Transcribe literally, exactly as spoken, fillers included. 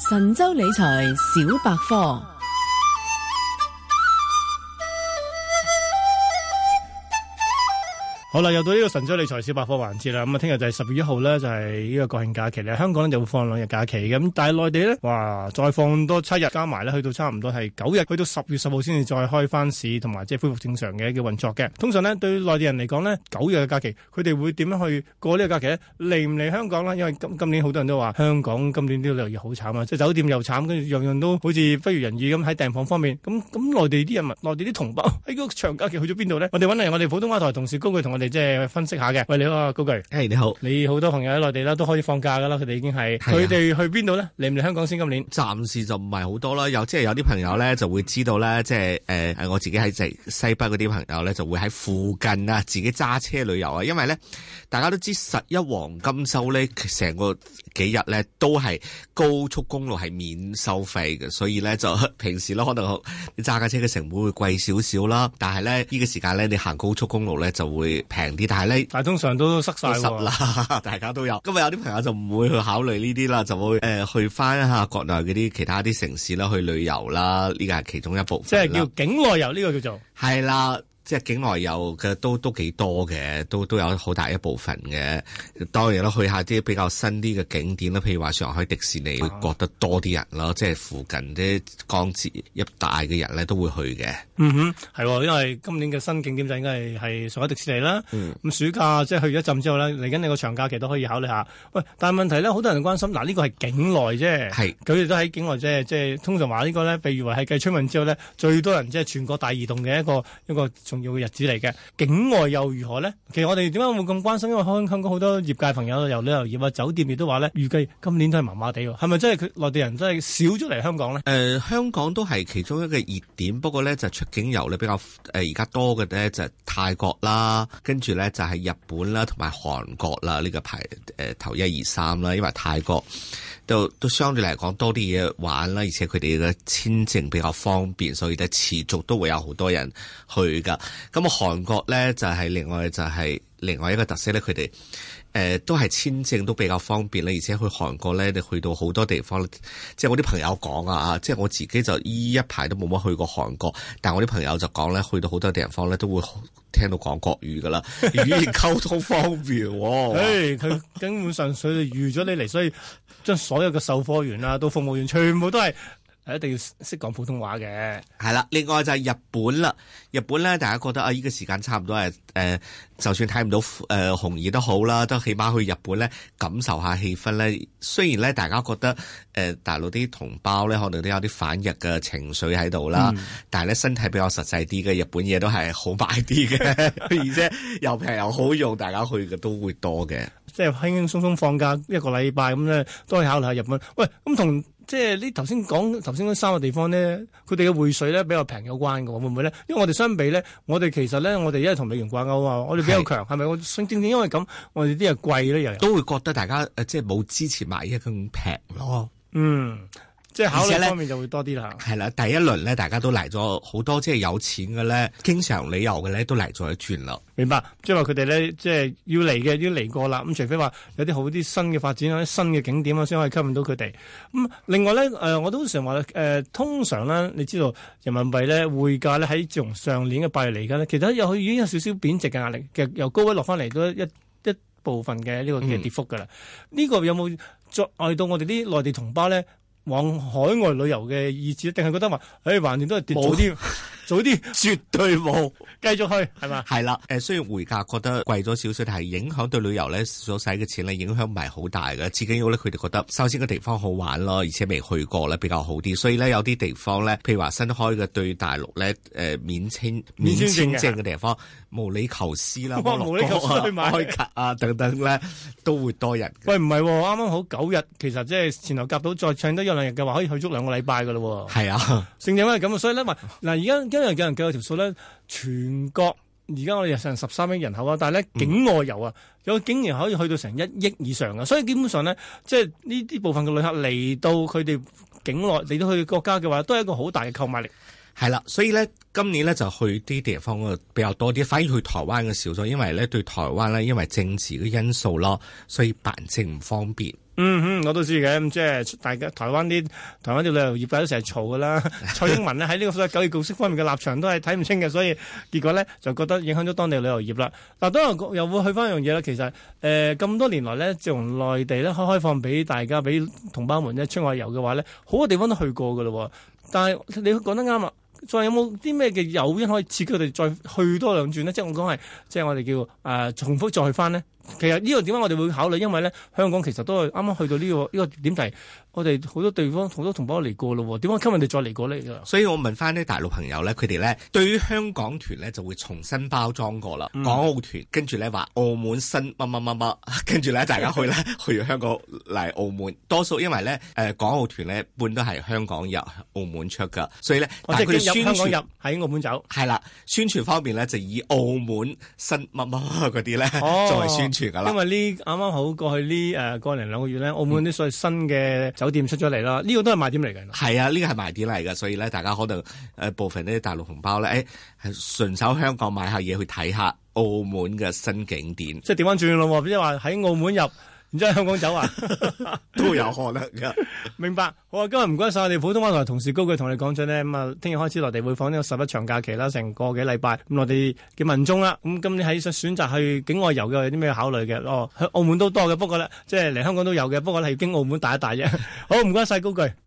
神州理財小百科。 好啦，又到呢個神州理財小百科環節啦。咁啊，聽日就係十月一號咧，就係呢個國慶假期咧。香港咧就會放兩日假期嘅，咁但係內地咧，哇，再放多七日，加埋咧，去到差唔多係九日，去到十月十號先至再開翻市，同埋即係恢復正常嘅嘅運作嘅。通常呢，對內地人嚟講呢，九日嘅假期，佢哋會點樣去過呢個假期咧？嚟唔嚟香港咧？因為今今年好多人都話香港今年啲旅遊業好慘啊，即係酒店又慘，跟住樣樣都好似不如人意咁喺訂房方面。咁咁內地啲人民，內地啲同胞喺嗰個長假期去咗邊度呢？我哋揾嚟我哋普通話台同事高炬同我哋即係分析下嘅。喂，你好啊，高炬。 誒，你好。 你好多朋友喺內地啦，都可以放假噶啦，佢哋已經係。佢哋去邊度呢？嚟唔嚟香港先？今年暫時就唔係好多啦，有即係有啲朋友咧就會知道咧，即係誒誒，我自己喺即西北嗰啲朋友咧就會喺附近啊，自己揸車旅遊啊，因為咧大家都知十一黃金週咧，成個幾日咧都係高速公路係免收費嘅，所以咧就平時咧可能你揸架車嘅成本會貴少少啦，但係咧呢、呢個時間咧你行高速公路咧就會平啲，但係咧但係通常都塞晒喎，啦，大家都有。咁啊有啲朋友就唔會去考慮呢啲啦，就會誒、呃、去翻一下國內嗰啲其他啲城市啦，去旅遊啦，呢個係其中一部分。 即係叫境內遊呢、呢個叫做係啦。即係境內遊嘅都都幾多嘅，都都有好大一部分嘅。當然啦，去下啲比較新啲嘅景點啦，譬如話上海迪士尼，會覺得多啲人咯。即係附近啲江浙一帶嘅人咧都會去嘅。 嗯哼，係，因為今年嘅新景點就應該係係上海迪士尼啦。咁、嗯、暑假即係去咗一陣之後咧，嚟緊你個長假期都可以考慮下。喂，但係問題咧，好多人關心，嗱呢個係境內啫，係佢哋都喺境內啫，即係通常話呢個咧，被譽為係繼春運之後咧，最多人即係全國大移動嘅一個一個。一個重要嘅日子嚟嘅，境外又如何呢？其實我哋點解會咁關心？因為香港好多業界朋友由旅遊業啊、酒店亦都話呢，預計今年都係麻麻地喎。係咪真係佢內地人真係少咗嚟香港呢？誒、 呃，香港都係其中一個熱點，不過呢，就出境遊呢比較誒而家多嘅呢，就係泰國啦，跟住呢，就係日本啦，同埋韓國啦，呢、呢個排誒、呃、頭一二三啦，因為泰國都都相對嚟講多啲嘢玩啦，而且佢哋嘅簽證比較方便，所以呢持續都會有好多人去噶。咁啊，韓國咧就係、是、另外就係、是、另外一個特色咧，佢哋誒都係簽證都比較方便啦，而且去韓國咧，你去到好多地方，即係我啲朋友講啊，即係我自己就依一排都冇乜去過韓國，但係我啲朋友就講咧，去到好多地方咧都會聽到講國語噶啦，語言溝通方便。 誒，佢根本上佢哋預咗你嚟，所以將所有嘅售貨員啊到服務員全部都係。一定要識講普通話嘅。 係啦，另外就係日本啦。日本咧，大家覺得啊，呢、這個時間差唔多係誒、呃，就算睇唔到誒、呃、紅葉都好啦，都起碼去日本咧感受下氣氛咧。雖然咧，大家覺得誒、呃、大陸啲同胞咧，可能都有啲反日嘅情緒喺度啦，嗯、但係咧身體比較實際啲嘅，日本嘢都係好買啲嘅，而且又平又好用，大家去嘅都會多嘅。 即係輕輕鬆鬆放假一個禮拜咁咧，都可以考慮下日本。喂，咁同。即係呢頭先講頭先嗰三個地方呢，佢哋嘅匯稅咧比較平有關嘅，會唔會咧？因為我哋相比咧，我哋其實咧，我哋因為同美元掛鈎啊，我哋比較強，係咪？我正正因為咁，我哋啲嘢貴咧，又都會覺得大家誒，即係冇之前買嘢咁平咯。 嗯。即係考慮方面就會多啲啦。 係啦，第一輪咧，大家都嚟咗好多，即係有錢嘅咧，經常旅遊嘅咧，都嚟咗一轉啦。 明白，即係話佢哋咧，即係要嚟嘅，要嚟過啦。咁除非話有啲好啲新嘅發展，有啲新嘅景點啊，先可以吸引到佢哋。咁、嗯、另外咧，誒、呃，我都常話咧，誒、呃，通常咧，你知道人民幣咧匯價咧喺自從上年嘅八月嚟緊咧，其實又已經有少少貶值嘅壓力，其實由高位落翻嚟都一一部分嘅呢個嘅跌幅噶啦。呢、嗯、個有冇阻礙到我哋啲內地同胞咧往海外旅遊嘅意志，定係覺得話，誒，橫掂都係跌早啲，早啲，絕對冇，繼續去，係嘛？ 係啦，誒，雖然匯價覺得貴咗少少，但係影響對旅遊咧所使嘅錢咧，影響唔係好大嘅。至緊要咧，佢哋覺得首先個地方好玩咯，而且未去過咧比較好啲，所以咧有啲地方咧，譬如話新開嘅對大陸咧，誒、呃、免簽免簽證嘅地方，毛里求斯啦， 哇，毛里求斯去買開卡啊等等咧，都會多人。 喂，唔係，啱啱好九日，其實即係前後夾到再唱得一兩日嘅話，可以去足兩個禮拜噶咯。 係啊， 正正係咁啊，所以咧，嗱，而家今日有人計有條數咧，全國而家我哋成十三億人口啊，但係咧境外遊啊，有竟然可以去到成一億以上啊，所以基本上咧，即係呢啲部分嘅旅客嚟到佢哋境內嚟到佢哋國家嘅話，都係一個好大嘅購買力。 係啦，所以咧今年咧就去啲地方比較多啲，反而去台灣嘅少咗，因為咧對台灣咧因為政治嘅因素咯，所以辦證唔方便。 嗯嗯，我都知嘅，咁即係大家台灣啲台灣啲旅遊業界都成日嘈噶啦。蔡英文咧喺呢個所謂九二共識方面嘅立場都係睇唔清嘅，所以結果咧就覺得影響咗當地旅遊業啦。嗱，當然又會去翻一樣嘢啦。其實誒咁、呃、多年來咧，自從內地咧開開放俾大家俾同胞們咧出外遊嘅話咧，好多地方都去過噶咯。但係你講得啱啦。再有冇啲咩嘅誘因可以刺激佢哋再去多兩轉呢？即係我講係，即係我哋叫誒、呃、重複再去翻呢。其實呢個點解我哋會考慮？因為咧香港其實都係啱啱去到呢、呢個呢、呢個點題，我哋好多地方好多同胞嚟過咯，點解吸引你再嚟過呢？ 所以我問翻啲大陸朋友咧，佢哋咧對於香港團咧就會重新包裝過啦。嗯、港澳團跟住咧話澳門新乜乜乜乜，跟住咧大家去咧去香港嚟澳門，多數因為咧誒、呃、港澳團咧一般都係香港入澳門出噶，所以咧但係佢哋宣傳香港入喺澳門走係啦，宣傳方面咧就以澳門新乜乜嗰啲咧作為宣傳。 因為呢啱啱好過去呢誒個零兩個月咧，澳門啲所謂新嘅酒店出咗嚟啦，呢、嗯、個都係賣點嚟嘅。 係啊，呢個係賣點嚟嘅，所以咧大家可能誒、呃、部分啲大陸同胞咧，誒係順手香港買下嘢去睇下澳門嘅新景點， 即係調翻轉咯，即係話喺澳門入。然之後香港走啊， 都有可能噶。 明白，好啊！今日唔該晒我哋普通話台同事高炬同你講咗呢。咁啊，聽日開始內地會放呢個十一長假期啦，成個幾禮拜。咁我哋嘅民眾啦，咁今年喺選擇去境外遊嘅有啲咩考慮嘅？哦，去澳門都多嘅，不過咧，即係嚟香港都有嘅，不過咧係經澳門帶一帶啫。好，唔該晒高炬。